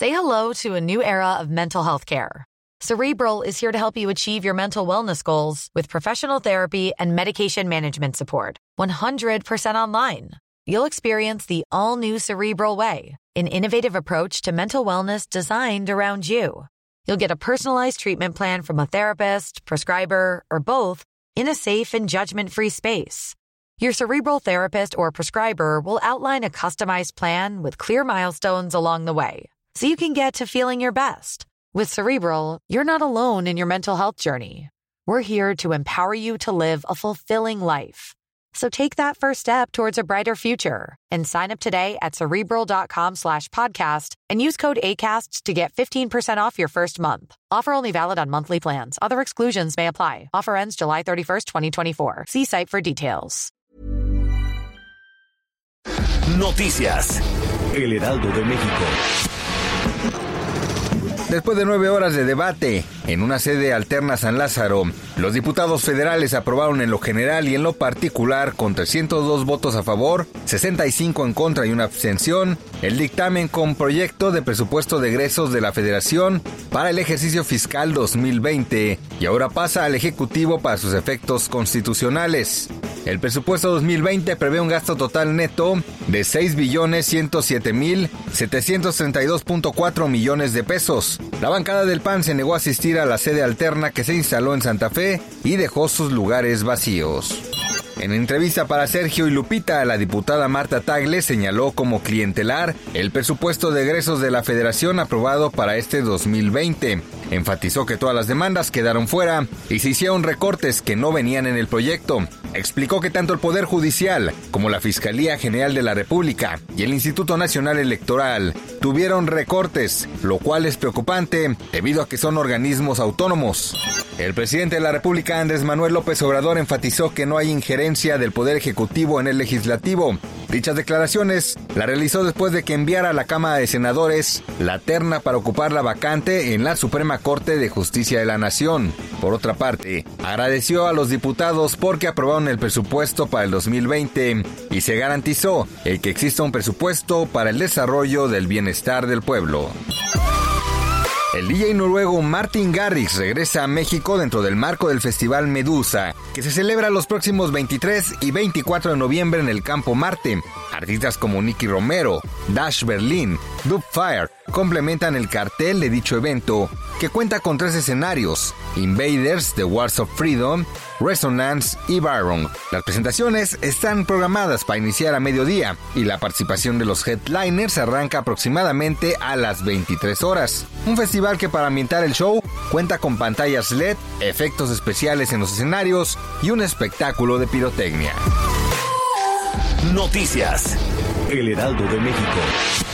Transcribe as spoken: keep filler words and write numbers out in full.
Say hello to a new era of mental health care. Cerebral is here to help you achieve your mental wellness goals with professional therapy and medication management support. one hundred percent online. You'll experience the all-new Cerebral Way, an innovative approach to mental wellness designed around you. You'll get a personalized treatment plan from a therapist, prescriber, or both in a safe and judgment-free space. Your Cerebral therapist or prescriber will outline a customized plan with clear milestones along the way, so you can get to feeling your best. With Cerebral, you're not alone in your mental health journey. We're here to empower you to live a fulfilling life. So take that first step towards a brighter future and sign up today at Cerebral.com slash podcast and use code ACAST to get fifteen percent off your first month. Offer only valid on monthly plans. Other exclusions may apply. Offer ends July thirty-first, twenty twenty-four. See site for details. Noticias. El Heraldo de México. Después de nueve horas de debate en una sede alterna San Lázaro, los diputados federales aprobaron en lo general y en lo particular, con trescientos dos votos a favor, sesenta y cinco en contra y una abstención, el dictamen con proyecto de presupuesto de egresos de la Federación para el ejercicio fiscal dos mil veinte y ahora pasa al Ejecutivo para sus efectos constitucionales. El presupuesto dos mil veinte prevé un gasto total neto de seis billones ciento siete mil setecientos treinta y dos punto cuatro millones de pesos. La bancada del P A N se negó a asistir a la sede alterna que se instaló en Santa Fe y dejó sus lugares vacíos. En entrevista para Sergio y Lupita, la diputada Marta Tagle señaló como clientelar el presupuesto de egresos de la Federación aprobado para este dos mil veinte. Enfatizó que todas las demandas quedaron fuera y se hicieron recortes que no venían en el proyecto. Explicó que tanto el Poder Judicial como la Fiscalía General de la República y el Instituto Nacional Electoral tuvieron recortes, lo cual es preocupante debido a que son organismos autónomos. El presidente de la República, Andrés Manuel López Obrador, enfatizó que no hay injerencia del Poder Ejecutivo en el Legislativo. Dichas declaraciones la realizó después de que enviara a la Cámara de Senadores la terna para ocupar la vacante en la Suprema Corte de Justicia de la Nación. Por otra parte, agradeció a los diputados porque aprobaron el presupuesto para el dos mil veinte y se garantizó el que exista un presupuesto para el desarrollo del bienestar del pueblo. El D J noruego Martin Garrix regresa a México dentro del marco del Festival Medusa, que se celebra los próximos veintitrés y veinticuatro de noviembre en el Campo Marte. Artistas como Nicky Romero, Dash Berlin, Dubfire complementan el cartel de dicho evento, que cuenta con tres escenarios: Invaders, The Wars of Freedom, Resonance y Byron. Las presentaciones están programadas para iniciar a mediodía y la participación de los headliners arranca aproximadamente a las veintitrés horas. Un festival que, para ambientar el show, cuenta con pantallas L E D, efectos especiales en los escenarios y un espectáculo de pirotecnia. Noticias. El Heraldo de México.